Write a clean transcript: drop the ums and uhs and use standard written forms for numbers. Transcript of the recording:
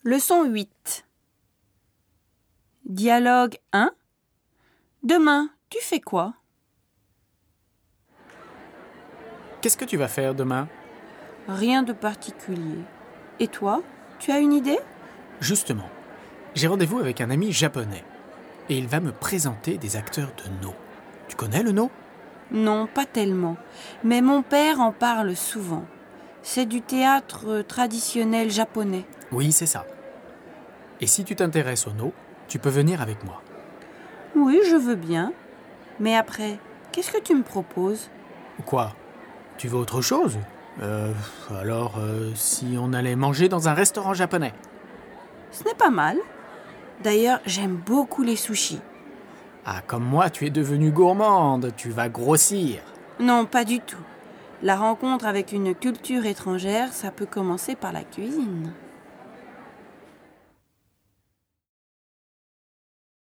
Leçon 8. Dialogue 1. Demain, tu fais quoi? Qu'est-ce que tu vas faire demain? Rien de particulier. Et toi, tu as une idée? Justement, j'ai rendez-vous avec un ami japonais et il va me présenter des acteurs de Noh. Tu connais le Noh? Non, pas tellement. Mais mon père en parle souvent. C'est du théâtre traditionnel japonais. Oui, c'est ça. Et si tu t'intéresses au Noh, tu peux venir avec moi. Oui, je veux bien. Mais après, qu'est-ce que tu me proposes? Quoi? Tu veux autre chose? Alors, si on allait manger dans un restaurant japonais? Ce n'est pas mal. D'ailleurs, j'aime beaucoup les sushis. Ah, comme moi, tu es devenue gourmande, tu vas grossir. Non, pas du tout. La rencontre avec une culture étrangère, ça peut commencer par la cuisine.